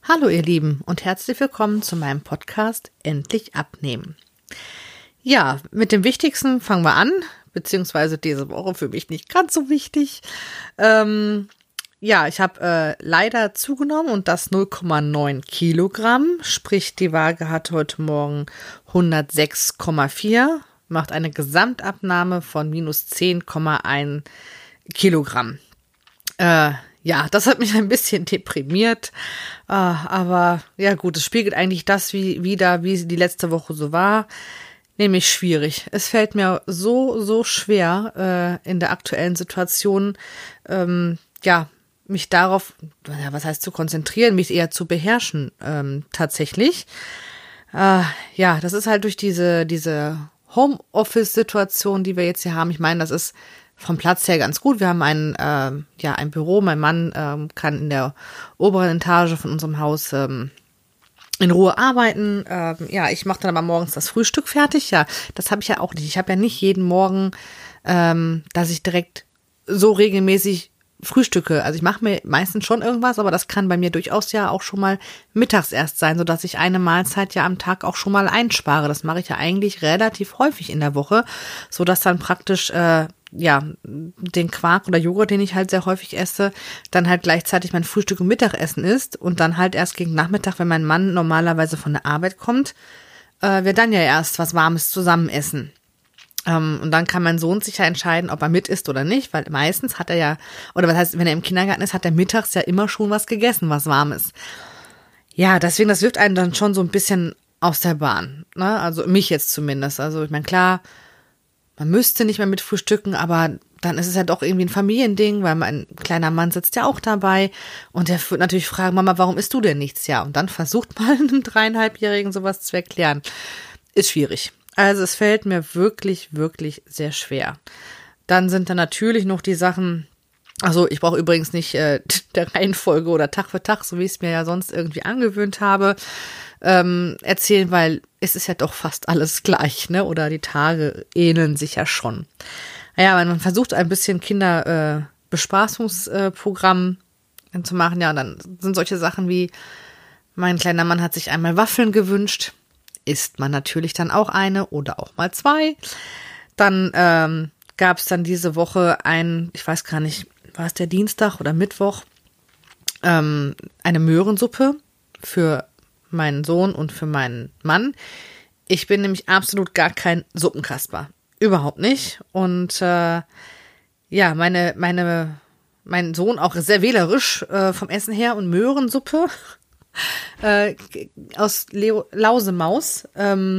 Hallo ihr Lieben und herzlich willkommen zu meinem Podcast Endlich abnehmen. Ja, mit dem Wichtigsten fangen wir an, beziehungsweise diese Woche für mich nicht ganz so wichtig. Ich habe leider zugenommen und das 0,9 Kilogramm, sprich die Waage hat heute Morgen 106,4, macht eine Gesamtabnahme von minus 10,1 Kilogramm. Das hat mich ein bisschen deprimiert, aber ja gut, es spiegelt eigentlich das wider, wie die letzte Woche so war, nämlich schwierig. Es fällt mir so schwer in der aktuellen Situation, mich darauf, was heißt zu konzentrieren, mich eher zu beherrschen tatsächlich. Das ist halt durch diese Homeoffice-Situation, die wir jetzt hier haben. Ich meine, das ist vom Platz her ganz gut. Wir haben ein Büro. Mein Mann kann in der oberen Etage von unserem Haus in Ruhe arbeiten. Ich mache dann aber morgens das Frühstück fertig. Ja, das habe ich ja auch nicht. Ich habe ja nicht jeden Morgen, dass ich direkt so regelmäßig frühstücke. Also ich mache mir meistens schon irgendwas, aber das kann bei mir durchaus ja auch schon mal mittags erst sein, sodass ich eine Mahlzeit ja am Tag auch schon mal einspare. Das mache ich ja eigentlich relativ häufig in der Woche, sodass dann praktisch den Quark oder Joghurt, den ich halt sehr häufig esse, dann halt gleichzeitig mein Frühstück und Mittagessen ist und dann halt erst gegen Nachmittag, wenn mein Mann normalerweise von der Arbeit kommt, wir dann ja erst was Warmes zusammen essen. Und dann kann mein Sohn sich ja entscheiden, ob er mit isst oder nicht, weil meistens hat er ja, oder was heißt, wenn er im Kindergarten ist, hat er mittags ja immer schon was gegessen, was Warmes. Ja, deswegen, das wirft einen dann schon so ein bisschen aus der Bahn, ne? Also mich jetzt zumindest. Also ich meine, klar, man müsste nicht mehr mit frühstücken, aber dann ist es ja doch irgendwie ein Familiending, weil mein kleiner Mann sitzt ja auch dabei und der wird natürlich fragen, Mama, warum isst du denn nichts? Ja, und dann versucht mal einem 3,5-Jährigen sowas zu erklären. Ist schwierig. Also es fällt mir wirklich, wirklich sehr schwer. Dann sind da natürlich noch die Sachen, also ich brauche übrigens nicht der Reihenfolge oder Tag für Tag, so wie ich es mir ja sonst irgendwie angewöhnt habe, erzählen, weil es ist ja doch fast alles gleich, ne? Oder die Tage ähneln sich ja schon. Naja, man versucht ein bisschen Kinderbespaßungsprogramm zu machen, ja, und dann sind solche Sachen wie, mein kleiner Mann hat sich einmal Waffeln gewünscht, isst man natürlich dann auch eine oder auch mal zwei. Dann gab es dann diese Woche ich weiß gar nicht, war es der Dienstag oder Mittwoch, eine Möhrensuppe für meinen Sohn und für meinen Mann. Ich bin nämlich absolut gar kein Suppenkasper. Überhaupt nicht. Und mein Sohn auch sehr wählerisch vom Essen her und Möhrensuppe aus Lausemaus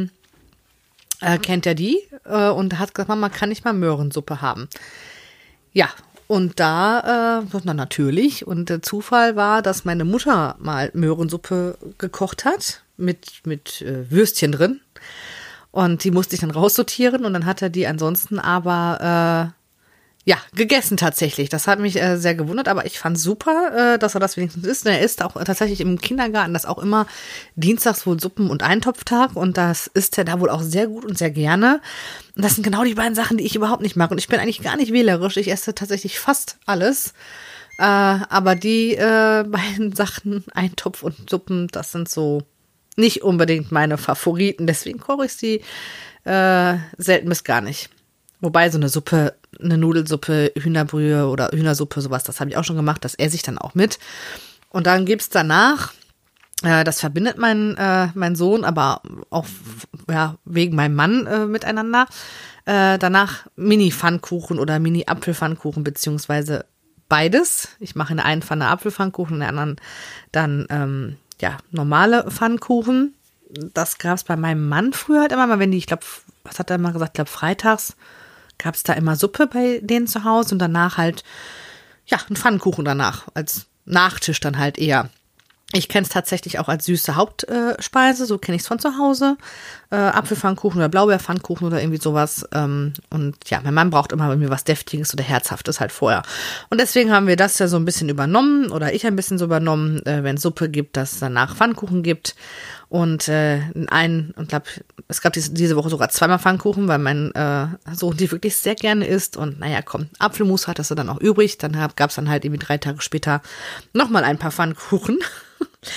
kennt er die und hat gesagt, Mama, kann ich mal Möhrensuppe haben? Ja, und da, natürlich, und der Zufall war, dass meine Mutter mal Möhrensuppe gekocht hat mit Würstchen drin und die musste ich dann raussortieren und dann hat er die ansonsten aber gegessen tatsächlich. Das hat mich sehr gewundert, aber ich fand super, dass er das wenigstens isst. Und er isst auch tatsächlich im Kindergarten, das auch immer dienstags wohl Suppen- und Eintopftag und das isst er da wohl auch sehr gut und sehr gerne. Und das sind genau die beiden Sachen, die ich überhaupt nicht mag. Und ich bin eigentlich gar nicht wählerisch. Ich esse tatsächlich fast alles. Aber die beiden Sachen, Eintopf und Suppen, das sind so nicht unbedingt meine Favoriten. Deswegen koche ich sie selten bis gar nicht. Wobei so eine Suppe, eine Nudelsuppe, Hühnerbrühe oder Hühnersuppe, sowas, das habe ich auch schon gemacht, das esse ich dann auch mit. Und dann gibt's danach, das verbindet mein Sohn, aber auch wegen meinem Mann miteinander, danach Mini-Pfannkuchen oder Mini-Apfelpfannkuchen, beziehungsweise beides. Ich mache in der einen Pfanne Apfelpfannkuchen, in der anderen dann normale Pfannkuchen. Das gab's bei meinem Mann früher halt immer mal, wenn ich glaube, was hat er mal gesagt, ich glaube freitags gab es da immer Suppe bei denen zu Hause und danach halt, einen Pfannkuchen danach, als Nachtisch dann halt eher. Ich kenne es tatsächlich auch als süße Hauptspeise, so kenne ich es von zu Hause. Apfelpfannkuchen oder Blaubeerpfannkuchen oder irgendwie sowas. Und ja, mein Mann braucht immer bei mir was Deftiges oder Herzhaftes halt vorher. Und deswegen haben wir das ja so ein bisschen übernommen oder ich ein bisschen so übernommen, wenn es Suppe gibt, dass es danach Pfannkuchen gibt. Und und glaube, es gab diese Woche sogar zweimal Pfannkuchen, weil mein Sohn die wirklich sehr gerne isst. Und naja, komm, Apfelmus hattest du dann auch übrig. Dann gab es dann halt irgendwie 3 Tage später nochmal ein paar Pfannkuchen.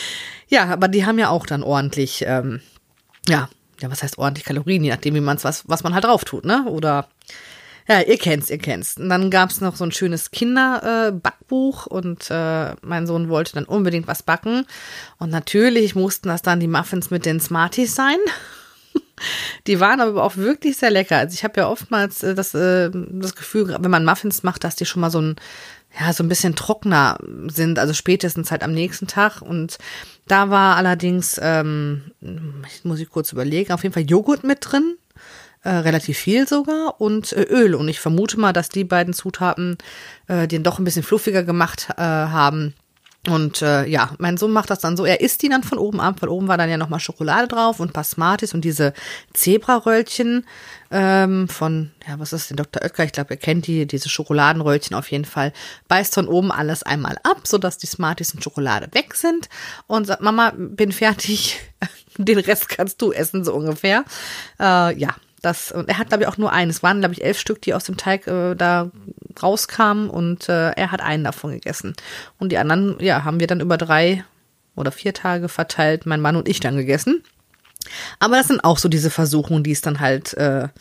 Ja, aber die haben ja auch dann ordentlich, was heißt ordentlich Kalorien, je nachdem, wie man es, was man halt drauf tut, ne? Oder, ja, ihr kennt's. Und dann gab's noch so ein schönes Kinderbackbuch und mein Sohn wollte dann unbedingt was backen. Und natürlich mussten das dann die Muffins mit den Smarties sein. Die waren aber auch wirklich sehr lecker. Also ich habe ja oftmals das Gefühl, wenn man Muffins macht, dass die schon mal so ein bisschen trockener sind, also spätestens halt am nächsten Tag. Und da war allerdings, muss ich kurz überlegen, auf jeden Fall Joghurt mit drin, relativ viel sogar, und Öl. Und ich vermute mal, dass die beiden Zutaten den doch ein bisschen fluffiger gemacht haben. Und mein Sohn macht das dann so, er isst die dann von oben ab, weil oben war dann ja nochmal Schokolade drauf und ein paar Smarties und diese Zebraröllchen was ist denn Dr. Oetker? Ich glaube, er kennt diese Schokoladenröllchen auf jeden Fall. Beißt von oben alles einmal ab, sodass die Smarties und Schokolade weg sind und sagt, Mama, bin fertig, den Rest kannst du essen, so ungefähr. Und er hat, glaube ich, auch nur einen. Es waren, glaube ich, 11 Stück, die aus dem Teig da rauskamen und er hat einen davon gegessen. Und die anderen, haben wir dann über 3 oder 4 Tage verteilt, mein Mann und ich dann gegessen. Aber das sind auch so diese Versuchungen, die es dann halt,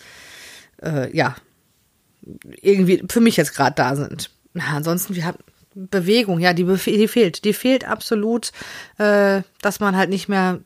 irgendwie für mich jetzt gerade da sind. Ja, ansonsten, wir haben Bewegung, ja, die fehlt. Die fehlt absolut, dass man halt nicht mehr,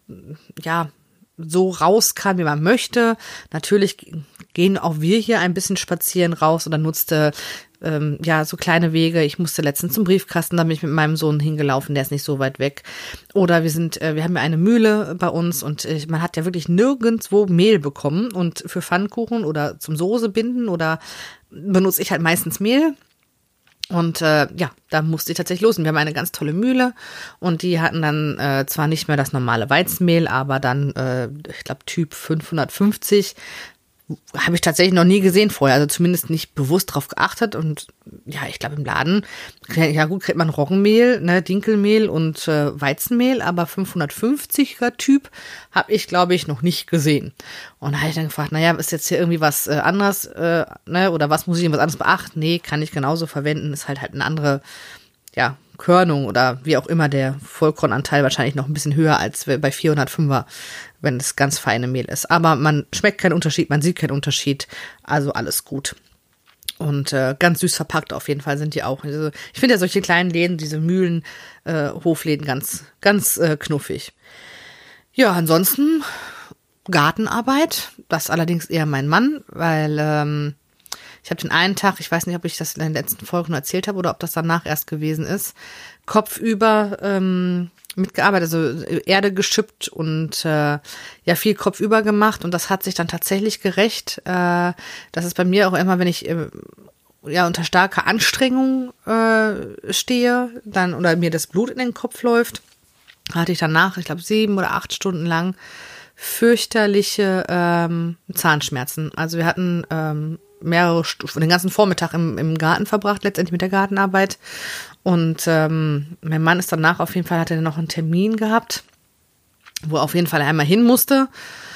so raus kann, wie man möchte. Natürlich gehen auch wir hier ein bisschen spazieren raus oder nutzte so kleine Wege. Ich musste letztens zum Briefkasten, da bin ich mit meinem Sohn hingelaufen, der ist nicht so weit weg. Oder wir haben ja eine Mühle bei uns und man hat ja wirklich nirgendwo Mehl bekommen und für Pfannkuchen oder zum Soße binden oder benutze ich halt meistens Mehl. Und da musste ich tatsächlich los. Und wir haben eine ganz tolle Mühle und die hatten dann zwar nicht mehr das normale Weizenmehl, aber dann, ich glaube, Typ 550 habe ich tatsächlich noch nie gesehen vorher, also zumindest nicht bewusst drauf geachtet. Und ja, ich glaube im Laden, kriegt man Roggenmehl, ne, Dinkelmehl und Weizenmehl, aber 550er Typ habe ich, glaube ich, noch nicht gesehen. Und da habe ich dann gefragt, ist jetzt hier irgendwie was anderes, oder was muss ich was anderes beachten? Nee, kann ich genauso verwenden, ist halt eine andere, Körnung oder wie auch immer, der Vollkornanteil wahrscheinlich noch ein bisschen höher als bei 405er, wenn es ganz feine Mehl ist. Aber man schmeckt keinen Unterschied, man sieht keinen Unterschied, also alles gut. Und ganz süß verpackt auf jeden Fall sind die auch. Also, ich finde ja solche kleinen Läden, diese Mühlen, Hofläden ganz, ganz knuffig. Ja, ansonsten Gartenarbeit, das allerdings eher mein Mann, weil ich habe den einen Tag, ich weiß nicht, ob ich das in den letzten Folgen erzählt habe oder ob das danach erst gewesen ist, kopfüber mitgearbeitet, also Erde geschippt und viel kopfüber gemacht. Und das hat sich dann tatsächlich gerecht. Das ist bei mir auch immer, wenn ich unter starker Anstrengung stehe, dann oder mir das Blut in den Kopf läuft, hatte ich danach, ich glaube 7 oder 8 Stunden lang fürchterliche Zahnschmerzen. Also wir hatten den ganzen Vormittag im Garten verbracht, letztendlich mit der Gartenarbeit. Und mein Mann ist danach auf jeden Fall, hatte noch einen Termin gehabt, wo er auf jeden Fall einmal hin musste.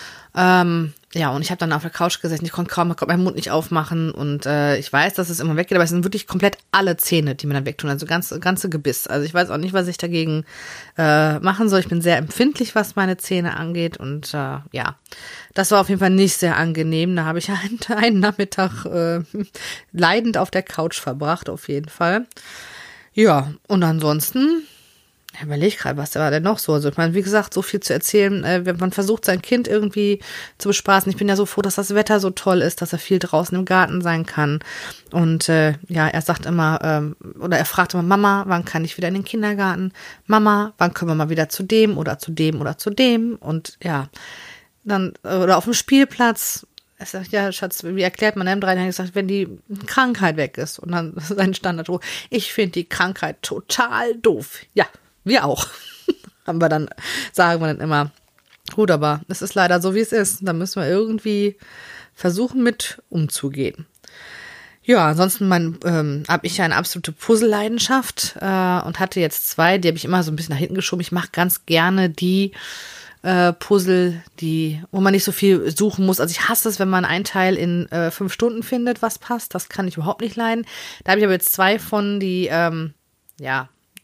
Und ich habe dann auf der Couch gesessen, ich konnte meinen Mund nicht aufmachen und ich weiß, dass es immer weggeht, aber es sind wirklich komplett alle Zähne, die mir dann wegtun, also ganze Gebiss. Also ich weiß auch nicht, was ich dagegen machen soll. Ich bin sehr empfindlich, was meine Zähne angeht und das war auf jeden Fall nicht sehr angenehm. Da habe ich einen Nachmittag leidend auf der Couch verbracht, auf jeden Fall. Ja, und ansonsten ich überlege gerade, was war denn noch so? Also ich meine, wie gesagt, so viel zu erzählen. Man versucht sein Kind irgendwie zu bespaßen. Ich bin ja so froh, dass das Wetter so toll ist, dass er viel draußen im Garten sein kann. Und er sagt immer, oder er fragt immer, Mama, wann kann ich wieder in den Kindergarten? Mama, wann können wir mal wieder zu dem oder zu dem oder zu dem? Und dann, oder auf dem Spielplatz. Er sagt, ja, Schatz, wie erklärt man einem Dreijährigen? Gesagt, wenn die Krankheit weg ist. Und dann sein Standard, ich finde die Krankheit total doof. Ja, wir auch. Sagen wir dann immer, gut, aber es ist leider so, wie es ist. Da müssen wir irgendwie versuchen, mit umzugehen. Ja, ansonsten habe ich ja eine absolute Puzzle-Leidenschaft und hatte jetzt 2, die habe ich immer so ein bisschen nach hinten geschoben. Ich mache ganz gerne die Puzzle, wo man nicht so viel suchen muss. Also ich hasse es, wenn man ein Teil in 5 Stunden findet, was passt. Das kann ich überhaupt nicht leiden. Da habe ich aber jetzt 2 von, die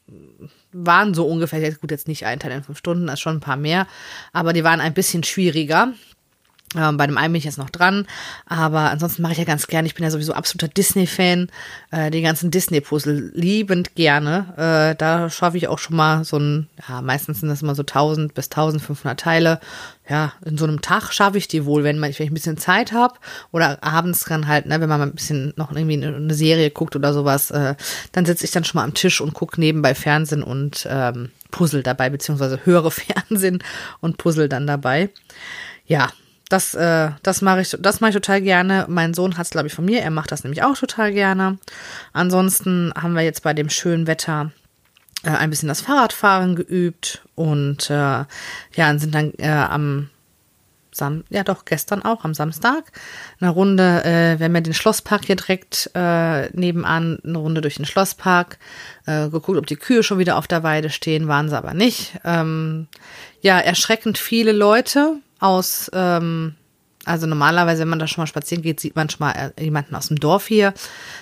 waren so ungefähr, jetzt nicht ein Teil in 5 Stunden, das ist schon ein paar mehr, aber die waren ein bisschen schwieriger. Bei dem einen bin ich jetzt noch dran, aber ansonsten mache ich ja ganz gerne, ich bin ja sowieso absoluter Disney-Fan, die ganzen Disney-Puzzle liebend gerne. Da schaffe ich auch schon mal meistens sind das immer so 1000 bis 1500 Teile. Ja, in so einem Tag schaffe ich die wohl, wenn ich ein bisschen Zeit habe oder abends dann halt, wenn man mal ein bisschen noch irgendwie eine Serie guckt oder sowas, dann sitze ich dann schon mal am Tisch und gucke nebenbei Fernsehen und Puzzle dabei, beziehungsweise höre Fernsehen und Puzzle dann dabei. Ja, das mache ich total gerne. Mein Sohn hat es, glaube ich, von mir. Er macht das nämlich auch total gerne. Ansonsten haben wir jetzt bei dem schönen Wetter ein bisschen das Fahrradfahren geübt und sind dann gestern auch am Samstag eine Runde, wir haben ja den Schlosspark hier direkt nebenan, eine Runde durch den Schlosspark, geguckt, ob die Kühe schon wieder auf der Weide stehen, waren sie aber nicht. Erschreckend viele Leute aus, also normalerweise, wenn man da schon mal spazieren geht, sieht man schon mal jemanden aus dem Dorf hier.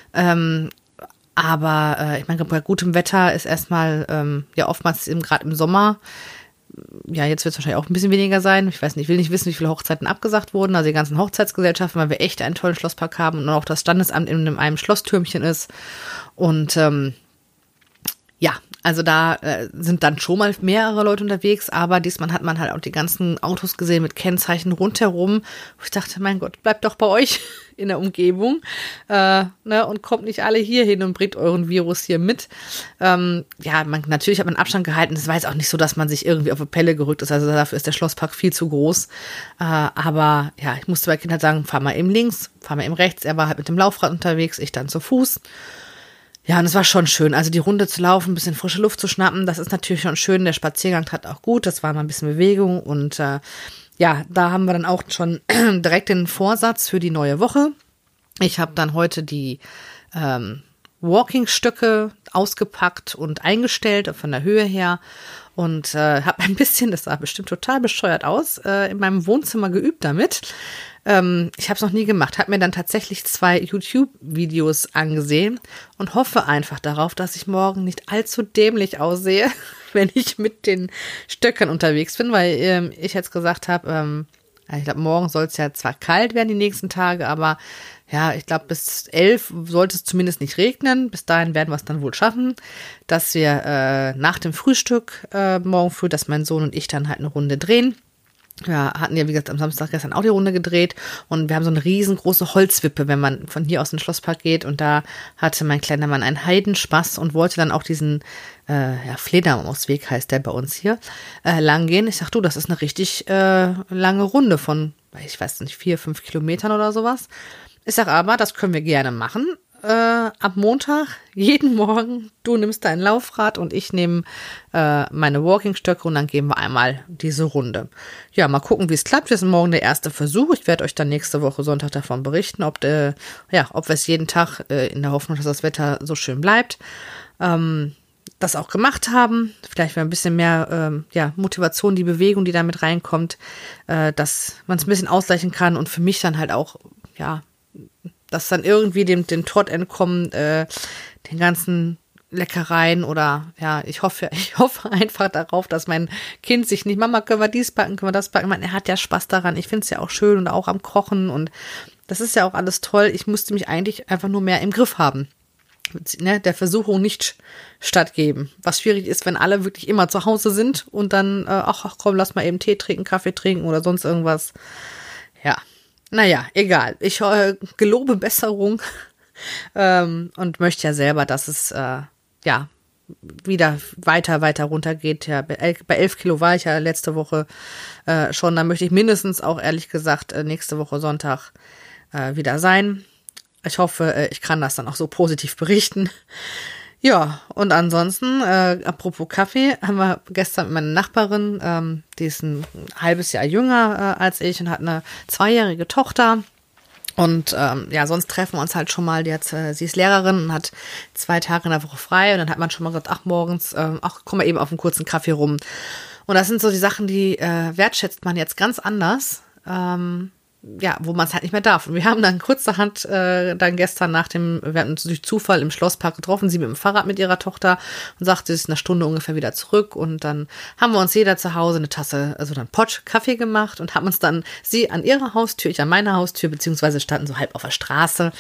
Aber ich meine, bei gutem Wetter ist erstmal, oftmals gerade im Sommer, jetzt wird es wahrscheinlich auch ein bisschen weniger sein. Ich weiß nicht, ich will nicht wissen, wie viele Hochzeiten abgesagt wurden. Also die ganzen Hochzeitsgesellschaften, weil wir echt einen tollen Schlosspark haben und auch das Standesamt in einem Schlosstürmchen ist. Und also da sind dann schon mal mehrere Leute unterwegs, aber diesmal hat man halt auch die ganzen Autos gesehen mit Kennzeichen rundherum. Wo ich dachte, mein Gott, bleibt doch bei euch in der Umgebung und kommt nicht alle hier hin und bringt euren Virus hier mit. Natürlich hat man Abstand gehalten. Es war jetzt auch nicht so, dass man sich irgendwie auf die Pelle gerückt ist. Also dafür ist der Schlosspark viel zu groß. Aber ich musste bei Kindern sagen, fahr mal eben links, fahr mal eben rechts. Er war halt mit dem Laufrad unterwegs, ich dann zu Fuß. Ja, und es war schon schön, also die Runde zu laufen, ein bisschen frische Luft zu schnappen, das ist natürlich schon schön, der Spaziergang tat auch gut, das war mal ein bisschen Bewegung und da haben wir dann auch schon direkt den Vorsatz für die neue Woche. Ich habe dann heute die Walking-Stöcke ausgepackt und eingestellt von der Höhe her und habe ein bisschen, das sah bestimmt total bescheuert aus, in meinem Wohnzimmer geübt damit. Ich habe es noch nie gemacht, habe mir dann tatsächlich 2 YouTube-Videos angesehen und hoffe einfach darauf, dass ich morgen nicht allzu dämlich aussehe, wenn ich mit den Stöckern unterwegs bin, weil ich jetzt gesagt habe, ich glaube, morgen soll es ja zwar kalt werden die nächsten Tage, aber ich glaube, bis 11 sollte es zumindest nicht regnen. Bis dahin werden wir es dann wohl schaffen, dass wir nach dem Frühstück morgen früh, dass mein Sohn und ich dann halt eine Runde drehen. Wir hatten ja, wie gesagt, am Samstag gestern auch die Runde gedreht und wir haben so eine riesengroße Holzwippe, wenn man von hier aus in den Schlosspark geht und da hatte mein kleiner Mann einen Heidenspaß und wollte dann auch diesen Fledermausweg heißt der bei uns hier, lang gehen. Ich sag, du, das ist eine richtig lange Runde von, ich weiß nicht, 4-5 Kilometern oder sowas. Ich sag aber, das können wir gerne machen. Ab Montag, jeden Morgen, du nimmst dein Laufrad und ich nehme meine Walking-Stöcke und dann gehen wir einmal diese Runde. Ja, mal gucken, wie es klappt. Das ist morgen der erste Versuch. Ich werde euch dann nächste Woche Sonntag davon berichten, ob wir es jeden Tag in der Hoffnung, dass das Wetter so schön bleibt, das auch gemacht haben. Vielleicht ein bisschen mehr Motivation, die Bewegung, die da mit reinkommt, dass man es ein bisschen ausgleichen kann und für mich dann halt auch, dass dann irgendwie dem Trott entkommen, den ganzen Leckereien oder ich hoffe einfach darauf, dass mein Kind sich nicht, Mama, können wir dies backen, können wir das backen? Ich meine, er hat ja Spaß daran, ich finde es ja auch schön und auch am Kochen und das ist ja auch alles toll. Ich musste mich eigentlich einfach nur mehr im Griff haben. Der Versuchung nicht stattgeben. Was schwierig ist, wenn alle wirklich immer zu Hause sind und dann, ach komm, lass mal eben Tee trinken, Kaffee trinken oder sonst irgendwas. Ja. Naja, egal. Ich gelobe Besserung und möchte ja selber, dass es wieder weiter runtergeht. Ja, bei 11 Kilo war ich ja letzte Woche schon. Da möchte ich mindestens auch, ehrlich gesagt, nächste Woche Sonntag wieder sein. Ich hoffe, ich kann das dann auch so positiv berichten. Ja, und ansonsten, apropos Kaffee, haben wir gestern mit meiner Nachbarin, die ist ein halbes Jahr jünger als ich und hat eine 2-jährige Tochter. Und sonst treffen wir uns halt schon mal. Sie ist Lehrerin und hat 2 Tage in der Woche frei. Und dann hat man schon mal gesagt, ach morgens, komm mal eben auf einen kurzen Kaffee rum. Und das sind so die Sachen, die wertschätzt man jetzt ganz anders. ja, wo man es halt nicht mehr darf. Und wir haben dann kurzerhand dann gestern wir hatten uns durch Zufall im Schlosspark getroffen, sie mit dem Fahrrad mit ihrer Tochter und sagte, sie ist eine Stunde ungefähr wieder zurück. Und dann haben wir uns jeder zu Hause eine Tasse, also dann Pott Kaffee gemacht und haben uns dann, sie an ihrer Haustür, ich an meiner Haustür, beziehungsweise standen so halb auf der Straße.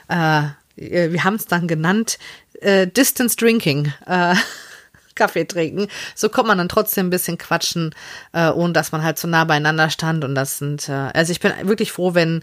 Wir haben es dann genannt, Distance Drinking, Kaffee trinken. So kommt man dann trotzdem ein bisschen quatschen, ohne dass man halt so nah beieinander stand. Und das sind, also ich bin wirklich froh, wenn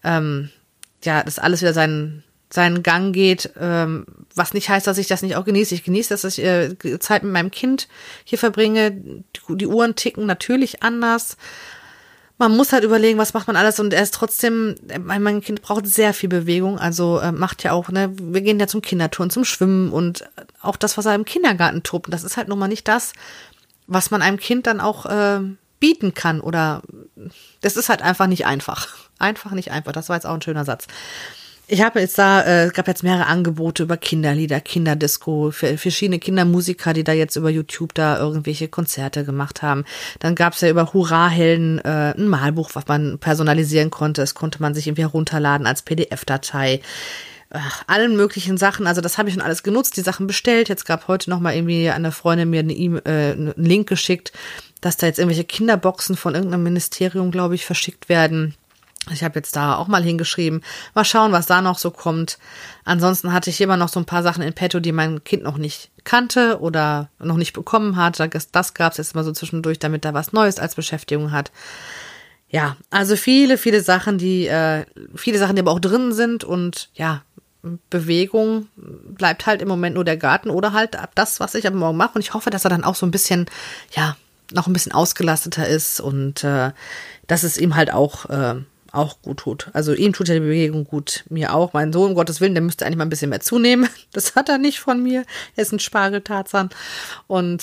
das alles wieder seinen Gang geht, was nicht heißt, dass ich das nicht auch genieße. Ich genieße, dass ich Zeit mit meinem Kind hier verbringe. Die Uhren ticken natürlich anders. Man muss halt überlegen, was macht man alles, und er ist trotzdem, mein Kind braucht sehr viel Bewegung, also macht ja auch, ne, wir gehen ja zum Kinderturnen, zum Schwimmen und auch das, was er im Kindergarten tobt, das ist halt nun mal nicht das, was man einem Kind dann auch bieten kann, oder das ist halt einfach nicht einfach. Einfach nicht einfach, das war jetzt auch ein schöner Satz. Ich habe jetzt es gab jetzt mehrere Angebote über Kinderlieder, Kinderdisco, für verschiedene Kindermusiker, die da jetzt über YouTube da irgendwelche Konzerte gemacht haben. Dann gab es ja über Hurra-Helden ein Malbuch, was man personalisieren konnte. Das konnte man sich irgendwie herunterladen als PDF-Datei. Allen möglichen Sachen, also das habe ich schon alles genutzt, die Sachen bestellt. Jetzt gab heute noch mal irgendwie eine Freundin mir einen Link geschickt, dass da jetzt irgendwelche Kinderboxen von irgendeinem Ministerium, glaube ich, verschickt werden. Ich habe jetzt da auch mal hingeschrieben. Mal schauen, was da noch so kommt. Ansonsten hatte ich immer noch so ein paar Sachen in petto, die mein Kind noch nicht kannte oder noch nicht bekommen hat. Das gab es jetzt mal so zwischendurch, damit er was Neues als Beschäftigung hat. Ja, also viele Sachen, die aber auch drin sind, und ja, Bewegung bleibt halt im Moment nur der Garten oder halt das, was ich am Morgen mache. Und ich hoffe, dass er dann auch so ein bisschen, ja, noch ein bisschen ausgelasteter ist und dass es ihm halt auch gut tut. Also ihm tut ja die Bewegung gut, mir auch. Mein Sohn, um Gottes Willen, der müsste eigentlich mal ein bisschen mehr zunehmen. Das hat er nicht von mir. Er ist ein Spargeltarzan. Und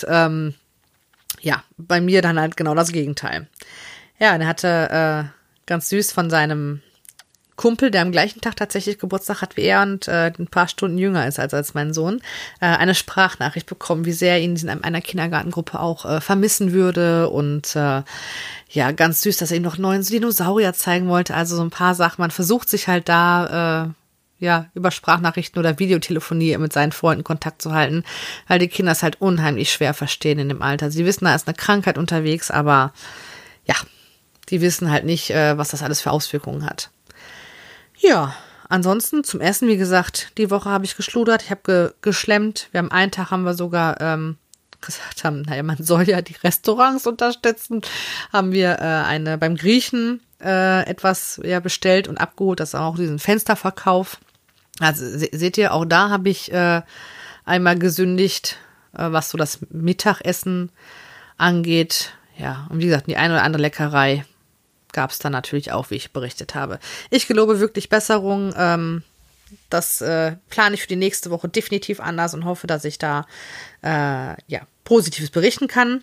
bei mir dann halt genau das Gegenteil. Ja, der hatte ganz süß von seinem Kumpel, der am gleichen Tag tatsächlich Geburtstag hat wie er und ein paar Stunden jünger ist als mein Sohn, eine Sprachnachricht bekommen, wie sehr er ihn in einer Kindergartengruppe auch vermissen würde, und ganz süß, dass er ihm noch neuen Dinosaurier zeigen wollte, also so ein paar Sachen. Man versucht sich halt da über Sprachnachrichten oder Videotelefonie mit seinen Freunden Kontakt zu halten, weil die Kinder es halt unheimlich schwer verstehen in dem Alter. Sie wissen, da ist eine Krankheit unterwegs, aber ja, die wissen halt nicht, was das alles für Auswirkungen hat. Ja, ansonsten zum Essen, wie gesagt, die Woche habe ich geschludert, ich habe geschlemmt. Einen Tag haben wir sogar gesagt, man soll ja die Restaurants unterstützen, haben wir beim Griechen etwas bestellt und abgeholt, das ist auch diesen Fensterverkauf. Also seht ihr, auch da habe ich einmal gesündigt, was so das Mittagessen angeht. Ja, und wie gesagt, die eine oder andere Leckerei gab es dann natürlich auch, wie ich berichtet habe. Ich gelobe wirklich Besserung. Das plane ich für die nächste Woche definitiv anders und hoffe, dass ich da Positives berichten kann.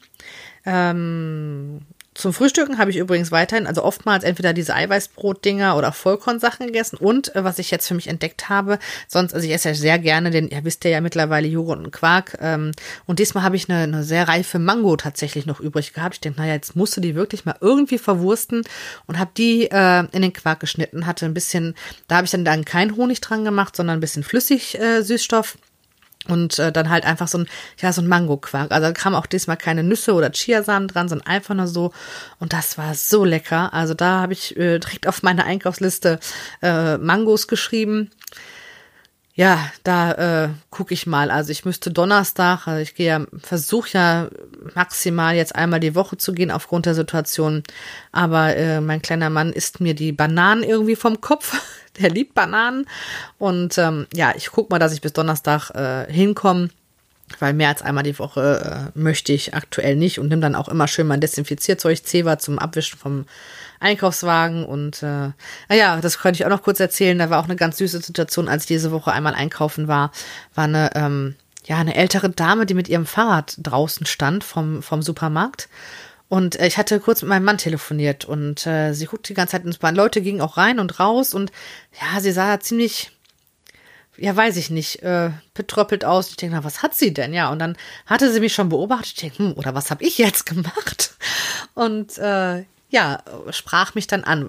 Zum Frühstücken habe ich übrigens weiterhin, also oftmals entweder diese Eiweißbrot-Dinger oder Vollkornsachen gegessen, und was ich jetzt für mich entdeckt habe, also ich esse ja sehr gerne wisst ihr ja mittlerweile, Joghurt und Quark, und diesmal habe ich eine sehr reife Mango tatsächlich noch übrig gehabt. Ich denke, jetzt musst du die wirklich mal irgendwie verwursten, und habe die in den Quark geschnitten, hatte ein bisschen, da habe ich dann keinen Honig dran gemacht, sondern ein bisschen flüssig Süßstoff. Und dann halt einfach so ein Mango-Quark. Also da kamen auch diesmal keine Nüsse oder Chiasamen dran, sondern einfach nur so. Und das war so lecker. Also da habe ich direkt auf meine Einkaufsliste Mangos geschrieben. Ja, da gucke ich mal. Also ich müsste Donnerstag, versuche ja maximal jetzt einmal die Woche zu gehen aufgrund der Situation. Aber mein kleiner Mann isst mir die Bananen irgendwie vom Kopf. Der liebt Bananen. Und ich gucke mal, dass ich bis Donnerstag hinkomme, weil mehr als einmal die Woche möchte ich aktuell nicht, und nimm dann auch immer schön mein Desinfizierzeug, Zewa zum Abwischen vom Einkaufswagen. Und das könnte ich auch noch kurz erzählen. Da war auch eine ganz süße Situation, als ich diese Woche einmal einkaufen war eine ältere Dame, die mit ihrem Fahrrad draußen stand vom Supermarkt. Und ich hatte kurz mit meinem Mann telefoniert, und sie guckte die ganze Zeit ins Bahn. Leute gingen auch rein und raus, und sie sah ziemlich, weiß ich nicht, betröppelt aus. Ich denke, was hat sie denn? Ja, und dann hatte sie mich schon beobachtet. Ich denke, oder was habe ich jetzt gemacht? Und sprach mich dann an.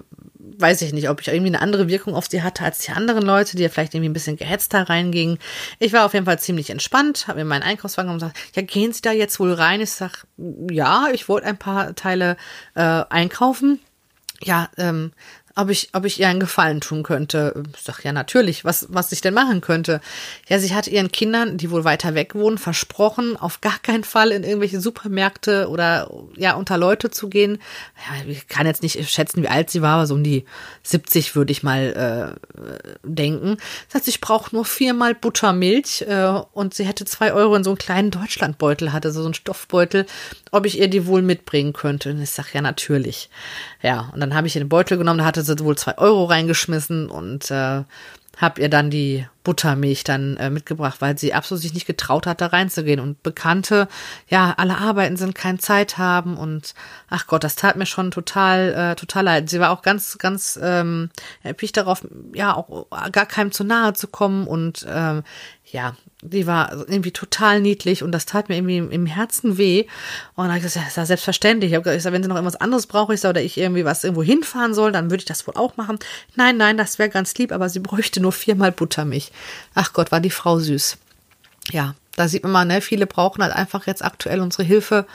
weiß ich nicht, ob ich irgendwie eine andere Wirkung auf sie hatte als die anderen Leute, die ja vielleicht irgendwie ein bisschen gehetzter reingingen. Ich war auf jeden Fall ziemlich entspannt, habe mir meinen Einkaufswagen und gesagt, ja, gehen Sie da jetzt wohl rein? Ich sag, ja, ich wollte ein paar Teile einkaufen. Ja, ob ich ihr einen Gefallen tun könnte. Ich sag, ja, natürlich, was ich denn machen könnte. Ja, sie hat ihren Kindern, die wohl weiter weg wohnen, versprochen, auf gar keinen Fall in irgendwelche Supermärkte oder ja, unter Leute zu gehen. Ja, ich kann jetzt nicht schätzen, wie alt sie war, aber so um die 70 würde ich mal denken. Das heißt, ich brauche nur 4-mal Buttermilch und sie hätte 2 Euro in so einen kleinen Deutschlandbeutel, hatte so einen Stoffbeutel, ob ich ihr die wohl mitbringen könnte. Und ich sag, ja, natürlich. Ja, und dann habe ich ihr den Beutel genommen, da hatte sie wohl 2 Euro reingeschmissen und habe ihr dann die Buttermilch dann mitgebracht, weil sie absolut sich nicht getraut hat, da reinzugehen. Und Bekannte, ja, alle arbeiten sind, keine Zeit haben und ach Gott, das tat mir schon total leid. Sie war auch ganz, ganz erpicht darauf, ja, auch gar keinem zu nahe zu kommen und ja, die war irgendwie total niedlich und das tat mir irgendwie im Herzen weh. Und dann habe ich gesagt, ja, ist ja selbstverständlich. Ich habe gesagt, wenn sie noch irgendwas anderes braucht, oder ich irgendwie was irgendwo hinfahren soll, dann würde ich das wohl auch machen. Nein, das wäre ganz lieb, aber sie bräuchte nur 4-mal Buttermilch. Ach Gott, war die Frau süß. Ja, da sieht man mal, ne, viele brauchen halt einfach jetzt aktuell unsere Hilfe.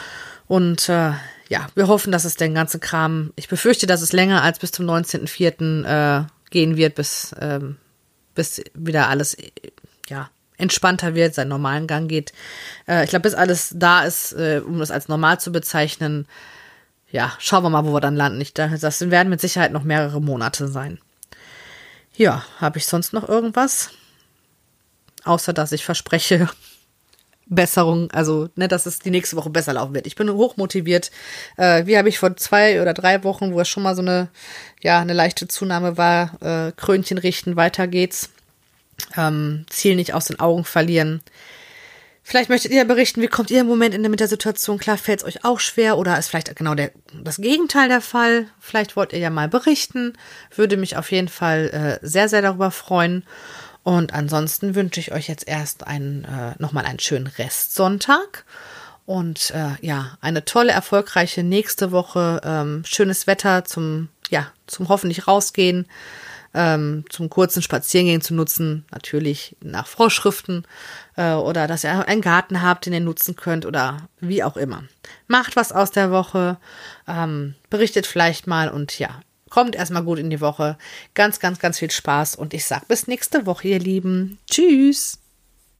Und ja, wir hoffen, dass es den ganzen Kram, ich befürchte, dass es länger als bis zum 19.04. Gehen wird, bis wieder alles, ja, entspannter wird, seinen normalen Gang geht. Ich glaube, bis alles da ist, um das als normal zu bezeichnen, ja, schauen wir mal, wo wir dann landen. Das werden mit Sicherheit noch mehrere Monate sein. Ja, habe ich sonst noch irgendwas? Außer, dass ich verspreche, Besserung, also, ne, dass es die nächste Woche besser laufen wird. Ich bin hochmotiviert. Wie habe ich vor 2 oder 3 Wochen, wo es schon mal so eine leichte Zunahme war, Krönchen richten, weiter geht's. Ziel nicht aus den Augen verlieren. Vielleicht möchtet ihr berichten, wie kommt ihr im Moment mit der Situation klar? Fällt es euch auch schwer oder ist vielleicht genau das Gegenteil der Fall? Vielleicht wollt ihr ja mal berichten. Würde mich auf jeden Fall sehr, sehr darüber freuen. Und ansonsten wünsche ich euch jetzt erst nochmal einen schönen Restsonntag. Und ja, eine tolle, erfolgreiche nächste Woche. Schönes Wetter zum hoffentlich rausgehen. Zum kurzen Spaziergehen zu nutzen, natürlich nach Vorschriften oder dass ihr einen Garten habt, den ihr nutzen könnt oder wie auch immer. Macht was aus der Woche, berichtet vielleicht mal und ja, kommt erstmal gut in die Woche. Ganz, ganz, ganz viel Spaß und ich sag bis nächste Woche, ihr Lieben. Tschüss!